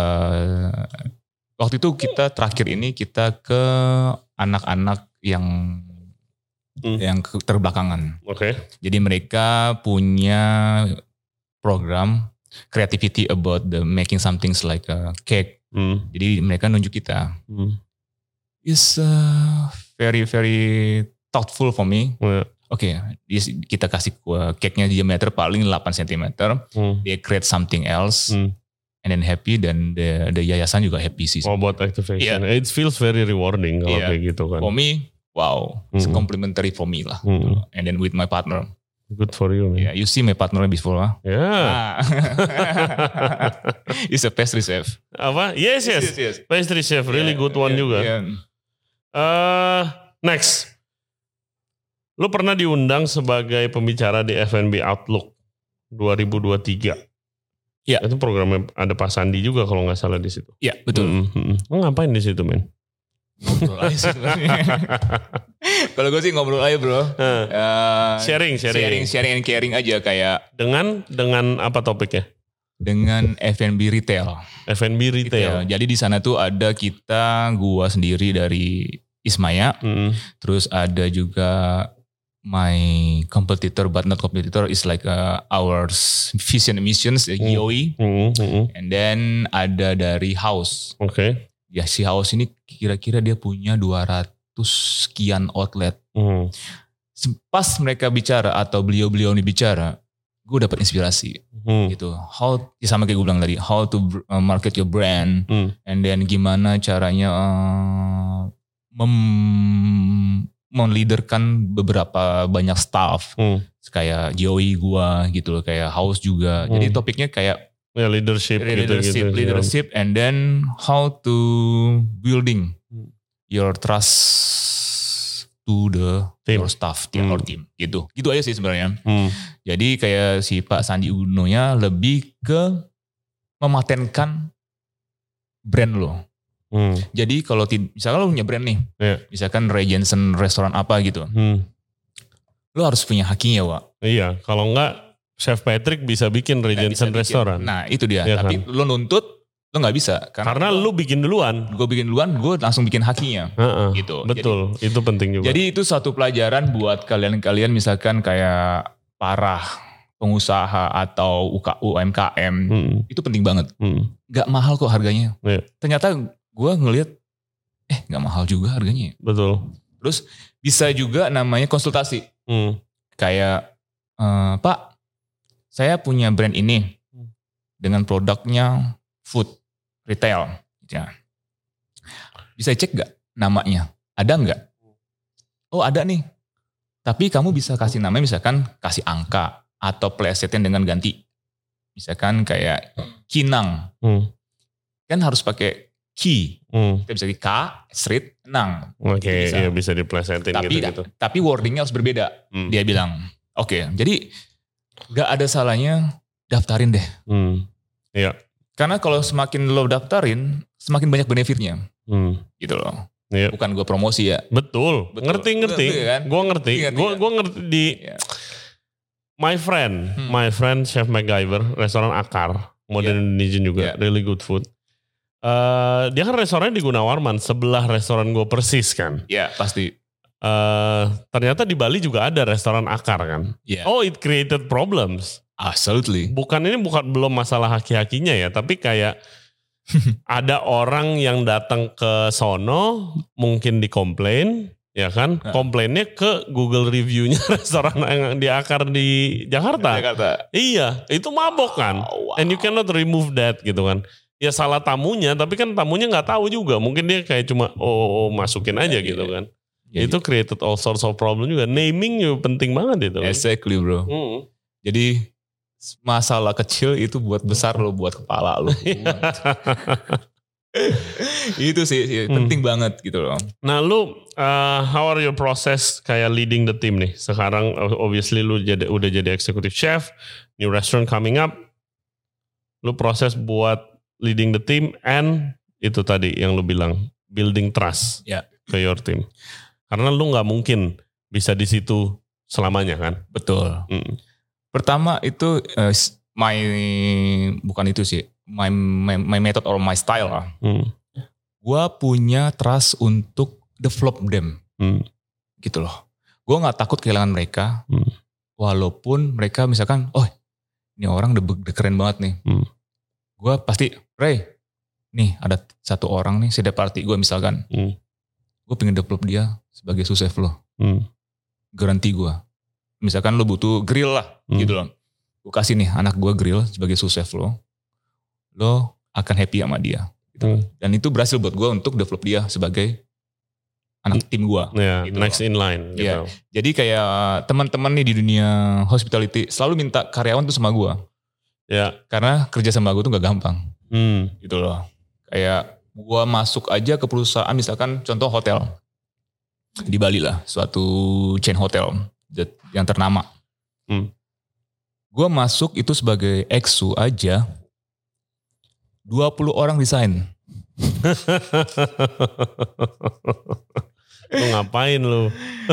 waktu itu kita terakhir ini kita ke anak-anak yang Hmm. yang ke- terbelakangan. Oke. Jadi mereka punya program creativity about the making something like a cake. Hmm. Jadi mereka nunjuk kita. Hmm. It's uh, very very thoughtful for me. Yeah. Oke, di- kita kasih uh, cake-nya diameter paling delapan sentimeter. Hmm. They create something else, Hmm. and then happy, dan the, the yayasan juga happy sih. Oh, buat activation. It feels very rewarding kalau Yeah. kayak gitu kan. For me, wow, it's Mm-mm. complimentary for me lah. Mm-mm. And then with my partner, Good for you, man. yeah, you see my partner before, huh? Yeah. Ah. He's a pastry chef. Apa? Yes, yes. yes. Pastry chef, really Yeah, good one yeah, juga. yeah. Eh, next. Lu pernah diundang sebagai pembicara di F and B Outlook dua ribu dua puluh tiga. Iya. Itu programnya ada Pak Sandi juga kalau nggak salah di situ. Iya, betul. Mm, mm, mm. Lu ngapain di situ, men? Ngobrol aja sih sebenarnya. Kalau gue sih ngobrol aja bro. Eh, Uh, Sharing, sharing. sharing, sharing and caring aja kayak dengan dengan apa topiknya? dengan F and B retail. F and B retail. Jadi di sana tuh ada kita, gua sendiri dari Ismaya, Mm, terus ada juga my competitor but not competitor is like uh, our vision and missions, uh, G O E, mm, mm, mm. and then ada dari House. Oke. Ya si House ini kira-kira dia punya dua ratus sekian outlet. Mm, Pas mereka bicara atau beliau-beliau ini bicara, gue dapat inspirasi mm, gitu. How, ya sama kayak gue bilang tadi, how to br- uh, market your brand, mm. and then gimana caranya uh, mem meleaderkan beberapa banyak staff, Hmm. kayak Joey gua gitu loh, kayak House juga. Jadi Hmm. topiknya kayak Ya leadership, leadership, gitu-gitu. leadership, and then how to building Hmm. your trust to the Team. your staff, to Hmm. your team, gitu. Gitu aja sih sebenarnya. Hmm. Jadi kayak si Pak Sandi Uno-nya lebih ke mematenkan brand lo. Hmm. Jadi kalau tid- misalkan lo punya brand nih, Iya. misalkan Ray Jensen restoran apa gitu, Hmm. lo harus punya hakinya, Wak. Iya, kalau enggak Chef Patrick bisa bikin Ray Nggak Jensen bisa bikin. restoran. Nah itu dia. Iya Tapi lo nuntut, lo nggak bisa. Karena lu bikin duluan. gue bikin duluan, gue langsung bikin hakinya. Heeh. Gitu. Betul, itu penting juga. Jadi itu satu pelajaran buat kalian-kalian misalkan kayak parah pengusaha atau U M K M Hmm. itu penting banget. Hmm. Gak mahal kok harganya. Yeah. Ternyata gue ngelihat eh gak mahal juga harganya. Betul. Terus bisa juga namanya konsultasi. Hmm. Kayak eh, Pak, saya punya brand ini dengan produknya food retail. Ya. Bisa cek gak namanya? Ada nggak? Oh ada nih. Tapi kamu bisa kasih namanya misalkan kasih angka atau plesetin dengan ganti. Misalkan kayak Kinang. Hmm. Kan harus pakai Ki. Hmm. Kita bisa di K, street, Nang. Oke, okay, bisa. ya bisa diplesetin Tapi, gitu-gitu. tapi wordingnya harus berbeda. Hmm. Dia bilang, oke, okay, jadi gak ada salahnya daftarin deh. Hmm. Iya. Karena kalau semakin lo daftarin, semakin banyak benefitnya. Hmm. Gitu loh. Iya. Bukan gue promosi ya. Betul. Betul. Ngerti-ngerti. Kan? Gue ngerti. Gue gue ngerti di yeah. my friend, hmm. my friend Chef MacGyver, restoran Akar, modern yeah. Indonesian juga, yeah. really good food. Uh, dia kan restorannya di Gunawarman, sebelah restoran gue persis kan. Iya, yeah, pasti. Uh, ternyata di Bali juga ada restoran Akar kan. Yeah. Oh, it created problems. Absolutely. Bukan ini bukan belum masalah haki-hakinya ya, tapi kayak ada orang yang datang ke sono mungkin dikomplain, ya kan? Nah. Komplainnya ke Google review-nya restoran yang di Akar di Jakarta. Jakarta. Iya, itu mabok kan. Wow, wow. And you cannot remove that gitu kan. Ya salah tamunya, tapi kan tamunya nggak tahu juga. Mungkin dia kayak cuma oh, oh masukin aja yeah, gitu yeah. kan. Yeah, itu yeah. created all sorts of problem juga. Naming juga penting banget itu. Exactly bro. Hmm. Jadi masalah kecil itu buat besar lo, buat kepala lo. Itu sih, sih penting hmm. banget gitu loh. Nah lu, uh, how are your process kayak leading the team nih? Sekarang obviously lu jadi, udah jadi executive chef, new restaurant coming up. Lu proses buat leading the team and itu tadi yang lu bilang, building trust yeah. ke your team. Karena lu gak mungkin bisa di situ selamanya kan? Betul. Hmm. Pertama itu uh, my bukan itu sih my my, my method or my style lah. Hmm. Gua punya trust untuk develop them, hmm. gitu loh. Gua nggak takut kehilangan mereka, hmm. walaupun mereka misalkan, oh ini orang udah, udah keren banget nih. Hmm. Gua pasti, Ray, nih ada satu orang nih setiap party gue misalkan, hmm. gue pengen develop dia sebagai sous-chef lo, hmm. garanti gue. Misalkan lo butuh grill lah, hmm. gitu loh. Gue kasih nih anak gue grill sebagai sous-chef lo. Lo akan happy sama dia. Gitu. Hmm. Dan itu berhasil buat gue untuk develop dia sebagai anak tim gue. Yeah, gitu next loh. in line. Gitu. Yeah. Jadi kayak teman-teman nih di dunia hospitality selalu minta karyawan tuh sama gue. Yeah. Karena kerja sama gue tuh gak gampang. Hmm. Gitu loh. Kayak gue masuk aja ke perusahaan misalkan contoh hotel. Di Bali lah, suatu chain hotel yang ternama. Hmm. Gue masuk itu sebagai exu aja, dua puluh orang resign. Lu ngapain lu?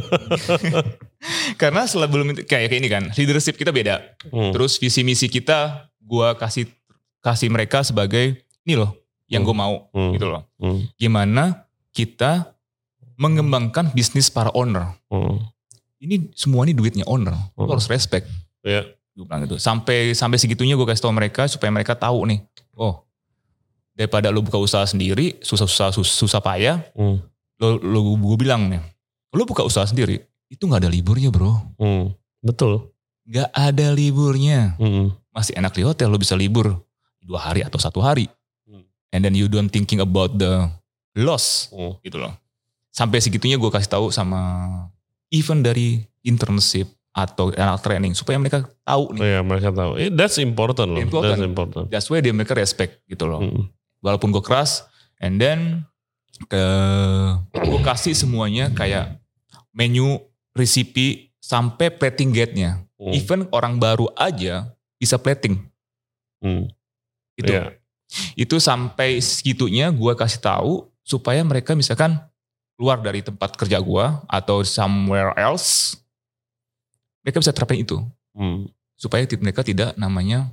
Karena setelah belum kayak ini kan, leadership kita beda. Hmm. Terus visi misi kita, gue kasih kasih mereka sebagai ini loh, yang hmm. gue mau, hmm. gitu loh. Hmm. Gimana kita mengembangkan bisnis para owner. Hmm. Ini semua ini duitnya owner, hmm. lo harus respect. Yeah. Gue bilang gitu. Sampai sampai segitunya gue kasih tau mereka supaya mereka tahu nih, oh daripada lo buka usaha sendiri, susah-susah susah payah, hmm. lo lo gue bilang nih, lo buka usaha sendiri, itu nggak ada liburnya bro. Hmm. Betul. Nggak ada liburnya. Hmm. Masih enak di hotel lo bisa libur dua hari atau satu hari, hmm. and then you don't thinking about the loss, hmm. gitu loh. Sampai segitunya gue kasih tahu sama even dari internship atau anak training supaya mereka tahu nih. Oh ya, mereka tahu. That's important loh. Important. That's important. That's why dia mereka respect gitu loh. Hmm. Walaupun gue keras, and then ke gue kasih semuanya kayak menu, resipi sampai plating guide-nya. Hmm. Even orang baru aja bisa plating. Hmm. Itu. Yeah. Itu sampai segitunya gue kasih tahu supaya mereka misalkan keluar dari tempat kerja gue atau somewhere else, mereka bisa terapin itu. Hmm. Supaya mereka tidak namanya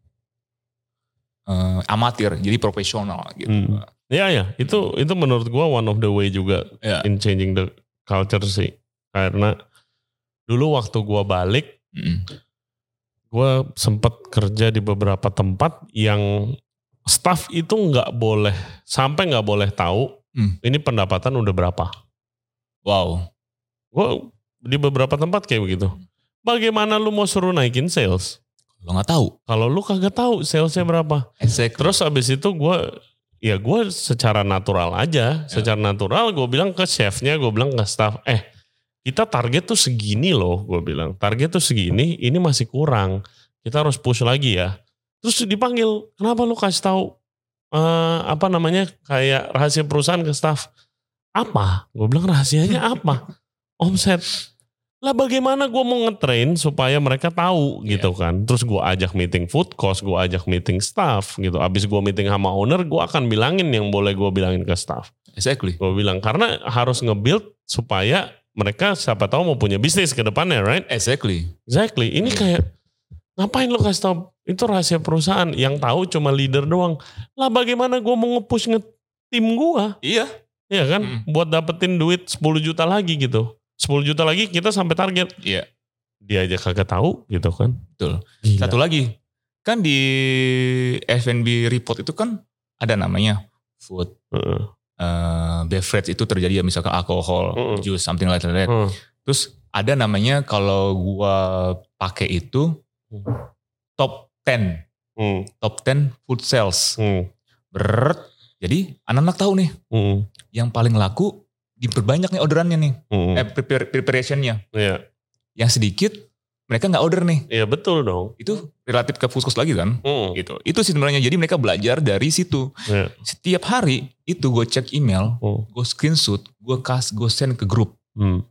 uh, amatir, jadi profesional gitu. Hmm. Ya ya, itu itu menurut gue one of the way juga yeah. in changing the culture sih. Karena dulu waktu gue balik, mm. gue sempat kerja di beberapa tempat yang staff itu nggak boleh, sampai nggak boleh tahu hmm. ini pendapatan udah berapa. Wow. Gue di beberapa tempat kayak begitu. Bagaimana lu mau suruh naikin sales? Lo nggak tahu. Kalau lu kagak tahu salesnya berapa. Exactly. Terus abis itu gue, ya gue secara natural aja, yeah. secara natural gue bilang ke chefnya, gue bilang ke staff, eh kita target tuh segini loh, gue bilang. Target tuh segini, ini masih kurang. Kita harus push lagi ya. Terus dipanggil, kenapa lu kasih tahu uh, apa namanya kayak rahasia perusahaan ke staff? Apa? Gue bilang rahasianya apa? Omset. Lah bagaimana gue mau ngetrain supaya mereka tahu gitu yeah. kan. Terus gue ajak meeting food cost, gue ajak meeting staff gitu. Abis gue meeting sama owner, gue akan bilangin yang boleh gue bilangin ke staff. Exactly. Gue bilang, karena harus nge-build supaya mereka siapa tahu mau punya bisnis ke depannya, right? Exactly. Exactly. Ini kayak, ngapain lo kasih tahu? Itu rahasia perusahaan. Yang tahu cuma leader doang. Lah bagaimana gue mau nge-push nge-tim gue? Iya. Iya kan? Hmm. Buat dapetin duit sepuluh juta lagi gitu. sepuluh juta lagi kita sampai target. Iya. Dia aja kagak tahu gitu kan. Betul. Gila. Satu lagi. Kan di F and B report itu kan ada namanya food. Uh. Uh, beverage itu terjadi ya misalkan alkohol, uh. juice, something like that. Uh. Terus ada namanya kalau gua pakai itu uh. top ten. Uh. Top ten food sales. Uh. Berat. Jadi anak-anak tahu nih. Uh. Yang paling laku diperbanyak nih orderannya nih, hmm. eh, prepare, preparationnya. Iya. Yang sedikit mereka nggak order nih. Iya betul dong. Itu relatif ke food cost lagi kan. Hmm. Gitu. Itu sih sebenarnya. Jadi mereka belajar dari situ. Iya. Setiap hari itu gue cek email, hmm. gue screenshot, gue kas, gue send ke grup. Hmm.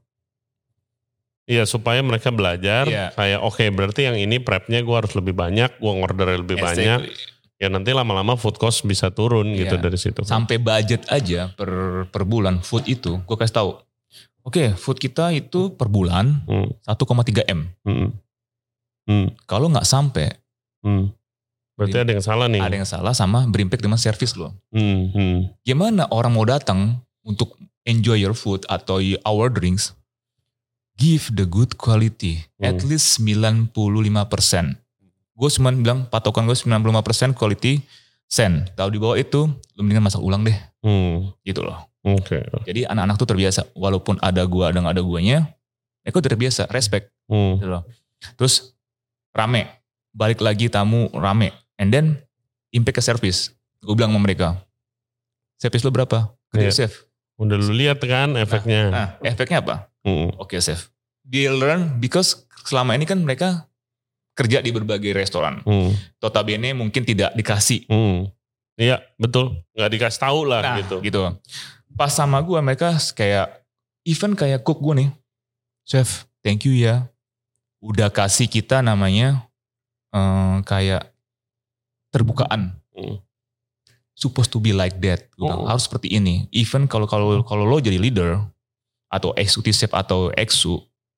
Iya supaya mereka belajar. Iya. Kayak oke okay, berarti yang ini prepnya gue harus lebih banyak, gue ngorder lebih exactly. banyak. Ya nanti lama-lama food cost bisa turun gitu yeah. dari situ. Sampai budget aja per per bulan food itu, gue kasih tahu. Oke, okay, food kita itu per bulan hmm. satu koma tiga M. Hmm. Hmm. Kalau nggak sampai, hmm. berarti ada yang salah nih. Ada yang salah sama berimpact dengan service lo. Hmm. Hmm. Gimana orang mau datang untuk enjoy your food atau our drinks? Give the good quality, hmm. at least sembilan puluh lima persen. Gue cuma bilang patokan gue sembilan puluh lima persen quality sen. Kalau di bawah itu lu mendingan masak ulang deh. Hmm. Gitu loh. Oke. Okay. Jadi anak-anak tuh terbiasa. Walaupun ada gua ada gak ada guanya, mereka udah terbiasa. Respect. Hmm. Gitu loh. Terus rame. Balik lagi tamu rame. And then impact ke service. Gue bilang sama mereka. Service lu berapa? Kerja yeah. chef. Udah lu lihat kan efeknya. Nah, nah efeknya apa? Hmm. Oke okay, chef. They learn because selama ini kan mereka kerja di berbagai restoran. Hmm. Notabene mungkin tidak dikasih. Hmm. Iya betul. Gak dikasih tahu lah nah, gitu. gitu. Pas sama gue mereka kayak, even kayak cook gue nih. Chef, thank you ya. Udah kasih kita namanya um, kayak terbukaan. Hmm. Supposed to be like that. Hmm. Harus seperti ini. Even kalau kalau kalau lo jadi leader, atau executive chef atau exu,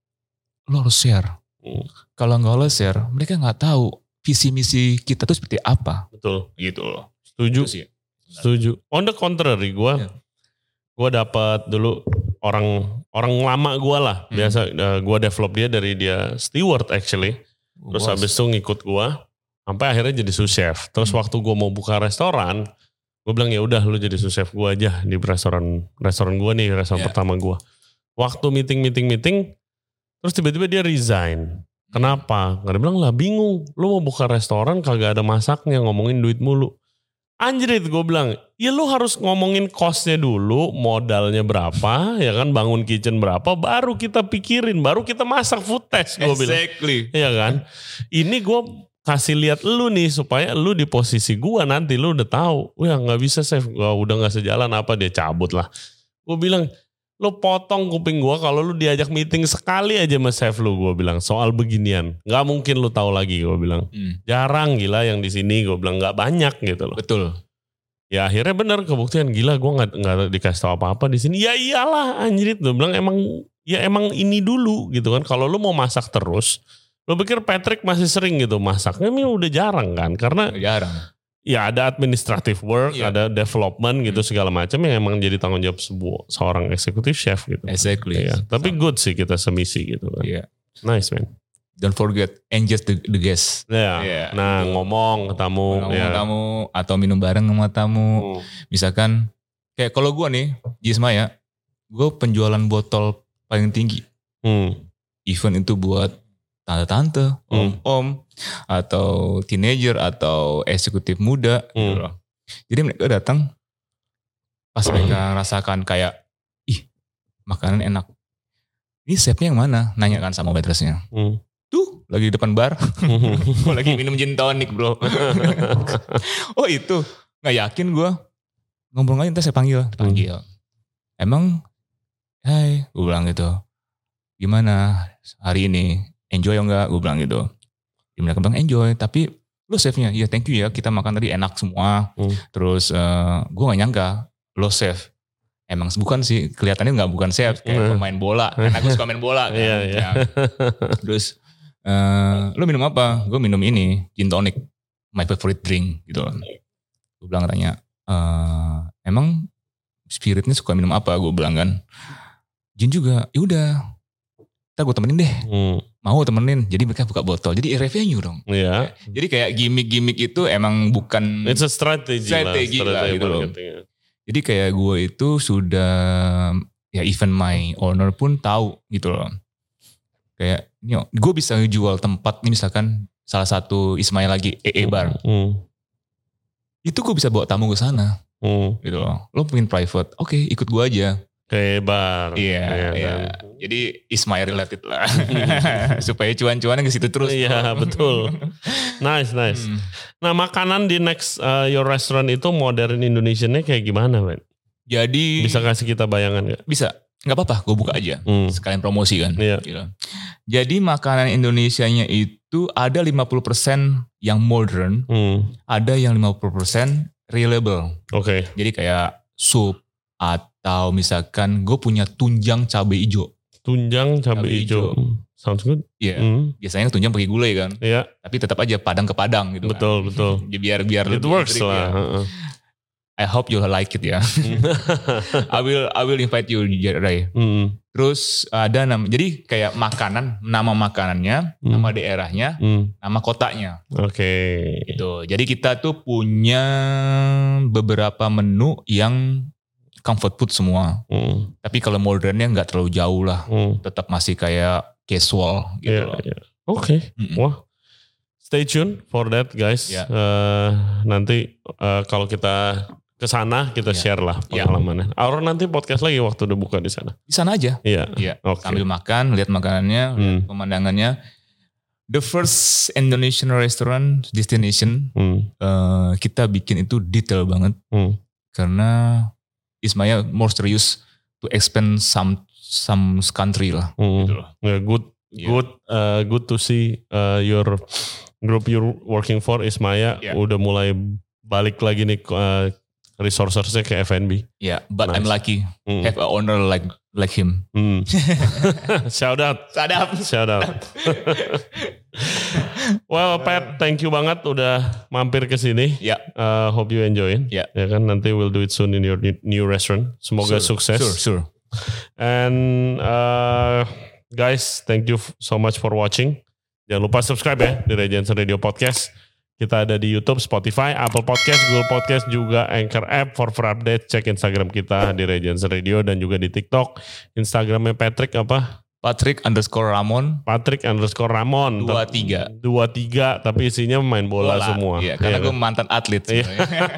lo harus share. Hmm. Kalau nggak lo share, mereka nggak tahu visi misi kita tuh seperti apa. Betul. Gitu loh. Setuju. Sih. Setuju. On the contrary, gue, yeah. gue dapat dulu orang orang lama gue lah. Hmm. Biasa uh, gue develop dia dari dia steward actually. Terus wow. habis itu ngikut gue, sampai akhirnya jadi sous chef. Terus hmm. waktu gue mau buka restoran, gue bilang ya udah lu jadi sous chef gue aja di restoran restoran gue nih, restoran yeah. pertama gue. Waktu meeting meeting meeting, terus tiba-tiba dia resign. Kenapa? Gak ada bilang lah bingung. Lu mau buka restoran kagak ada masaknya, ngomongin duit mulu. Anjrit gue bilang, ya lu harus ngomongin costnya dulu, modalnya berapa, ya kan bangun kitchen berapa, baru kita pikirin, baru kita masak food test gue bilang. Exactly. Iya kan? Ini gue kasih lihat lu nih supaya lu di posisi gue nanti lu udah tahu. Wah gak bisa chef, gua udah gak sejalan apa dia cabut lah. Gue bilang, lu potong kuping gue kalau lu diajak meeting sekali aja sama chef lu, gue bilang soal beginian nggak mungkin lu tahu lagi, gue bilang hmm. jarang gila yang di sini, gue bilang nggak banyak gitu loh. Betul. Ya akhirnya benar kebuktian, gila gue nggak nggak dikasih tahu apa apa di sini. Ya iyalah anjrit, gue bilang emang ya emang ini dulu gitu kan. Kalau lu mau masak terus, lu pikir Patrick masih sering gitu masaknya, ini udah jarang kan, karena jarang. Ya ada administrative work, yeah. ada development gitu hmm. segala macam yang emang jadi tanggung jawab sebuah seorang executive chef gitu. Exactly. Ya, tapi good sih kita semisi gitu kan. Yeah. Nice man. don't forget engage the, the guest. Ya. Yeah, Nah, gitu. ngomong ke tamu. Ngomong Ya. sama tamu atau minum bareng sama tamu. Hmm. Misalkan kayak kalau gue nih di Ismaya, gue penjualan botol paling tinggi. Hmm. Event itu buat tante-tante, Hmm. om-om, atau teenager, atau eksekutif muda. Gitu Hmm. loh. Jadi mereka datang, pas mereka rasakan kayak, ih makanan enak. Ini chefnya yang mana? Nanya kan sama waitressnya. Hmm. Tuh lagi di depan bar, gue lagi minum gin tonic bro. Oh itu, gak yakin gue. Ngobrol aja, ntar saya panggil. Panggil. Emang, hai, gue bilang gitu. Gimana hari ini? Enjoy enggak? Gue bilang gitu. Dia bilang enjoy, tapi lo chefnya, iya thank you ya, kita makan tadi enak semua. Hmm. Terus uh, gue gak nyangka, lo chef. Emang bukan sih, kelihatannya gak bukan chef, kayak Hmm. pemain bola. Karena gue suka main bola kan. Iya, iya. Ya. Terus, uh, lo minum apa? Gue minum ini, gin tonic, my favorite drink gitu. Gue bilang tanya, uh, emang spiritnya suka minum apa? Gue bilang kan, gin juga. Yaudah, ntar gue temenin deh. Hmm. Mau temenin, jadi mereka buka botol. Jadi revenue dong. Iya. Jadi kayak gimmick-gimmick itu emang bukan It's a strategy, strategi lah. lah Strategi gitu loh. marketing. Jadi kayak gue itu sudah, ya even my owner pun tahu gitu loh. Kayak, gue bisa jual tempat, ini misalkan salah satu Ismail lagi, E E Bar. Hmm. Itu gue bisa bawa tamu ke sana Hmm. gitu loh. Lo pengen private, oke ikut gue aja. Kayak bar. Iya, Iya, iya. kan? Jadi Ismail related lah. Supaya cuan-cuannya ke situ terus. Iya, betul. Nice, nice. Hmm. Nah, makanan di next uh, your restaurant itu modern Indonesian-nya kayak gimana, Ben? Jadi Bisa kasih kita bayangan gak? bisa, nggak apa-apa, gue buka aja. Hmm. Sekalian promosi kan. Iya. Gitu. Jadi makanan Indonesianya itu ada lima puluh persen yang modern, Hmm. ada yang lima puluh persen reliable. Oke. Jadi kayak sup atau misalkan gue punya tunjang cabai hijau. Tunjang cabai Cabai hijau. hijau. Hmm. Sounds good. Iya. Hmm. Biasanya tunjang pakai gulai kan. Iya, Tapi tetap aja padang ke padang gitu betul, kan. betul. Jadi biar biar It lebih works trik, lah. ya. Heeh. I hope you like it ya. I will I will invite you Ray. Hmm. Terus ada nama, jadi kayak makanan, nama makanannya, Hmm. nama daerahnya, Hmm. nama kotanya. Oke. Gitu. Jadi kita tuh punya beberapa menu yang comfort food semua. Hmm. Tapi kalau modernnya nggak terlalu jauh lah. Hmm. Tetap masih kayak casual gitu Iya, loh. iya. Oke. Mm-mm. Wah. Stay tune for that guys. Ya. Eh, nanti eh, kalau kita ke sana kita Ya. share lah Ya. pengalamannya. Aura nanti podcast lagi waktu udah buka di sana. Di sana aja. Iya. Iya. Oke. Sambil makan, lihat makanannya, lihat Hmm. pemandangannya. The first Indonesian restaurant destination Hmm. eh, kita bikin itu detail banget Hmm. karena Ismaya more serious to expand some some country lah. Hmm. Gitu loh. Yeah, good, Iya. good, uh, good to see uh, your group you're working for Ismaya Yeah. udah mulai balik lagi nih uh, resourcesnya ke F and B. Yeah, but I'm Nice. lucky Hmm. have a owner like like him. Hmm. Shout out, Sadap. shout out. Well, Pat, thank you banget udah mampir ke sini. Ya. Uh, hope you enjoy. Ya. Ya kan, nanti we'll do it soon in your new- new restaurant. Semoga Sure, sukses. Sure, sure. And uh, guys, thank you f- so much for watching. Jangan lupa subscribe ya di Regency Radio Podcast. Kita ada di YouTube, Spotify, Apple Podcast, Google Podcast, juga Anchor App. For for update, cek Instagram kita di Regency Radio dan juga di TikTok. Instagramnya Patrick apa? Patrick underscore Ramon. Patrick underscore Ramon. Dua tiga. Dua tiga, tapi isinya main bola, semua. Iya, karena Iya gue kan? mantan atlet Iya. sebenarnya.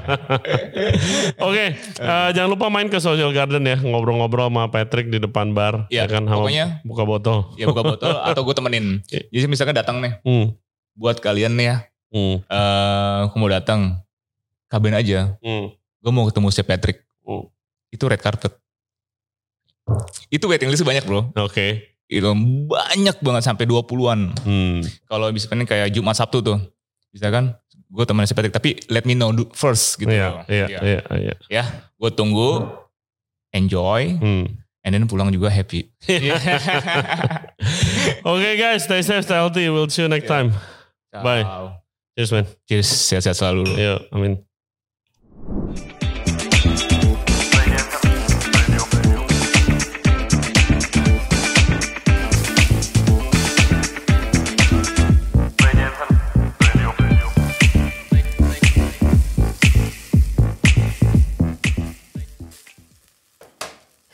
Oke, eh, jangan lupa main ke Social Garden ya, ngobrol-ngobrol sama Patrick di depan bar. Iya, ya kan, sama pokoknya- buka botol. Ya buka botol atau gue temenin. Jadi misalkan datang nih, Hmm, buat kalian nih ya, hmm, eh aku mau datang, kabarin aja. hmm, Gue mau ketemu si Patrick. hmm. Itu red carpet. Itu waiting list banyak bro. Oke. Itu banyak banget sampai dua puluhan. Hmm. Kalau misalkan kayak Jumat Sabtu tuh. Misalkan gue temenin si Patrick. Tapi let me know first gitu. Iya, loh. iya, Ya. iya, iya. Ya, gue tunggu, enjoy, Hmm. and then pulang juga happy. Oke guys, stay safe, stay healthy. We'll see you next time. Bye. Ciao. Cheers man. Cheers, sehat-sehat selalu. Yo, I mean.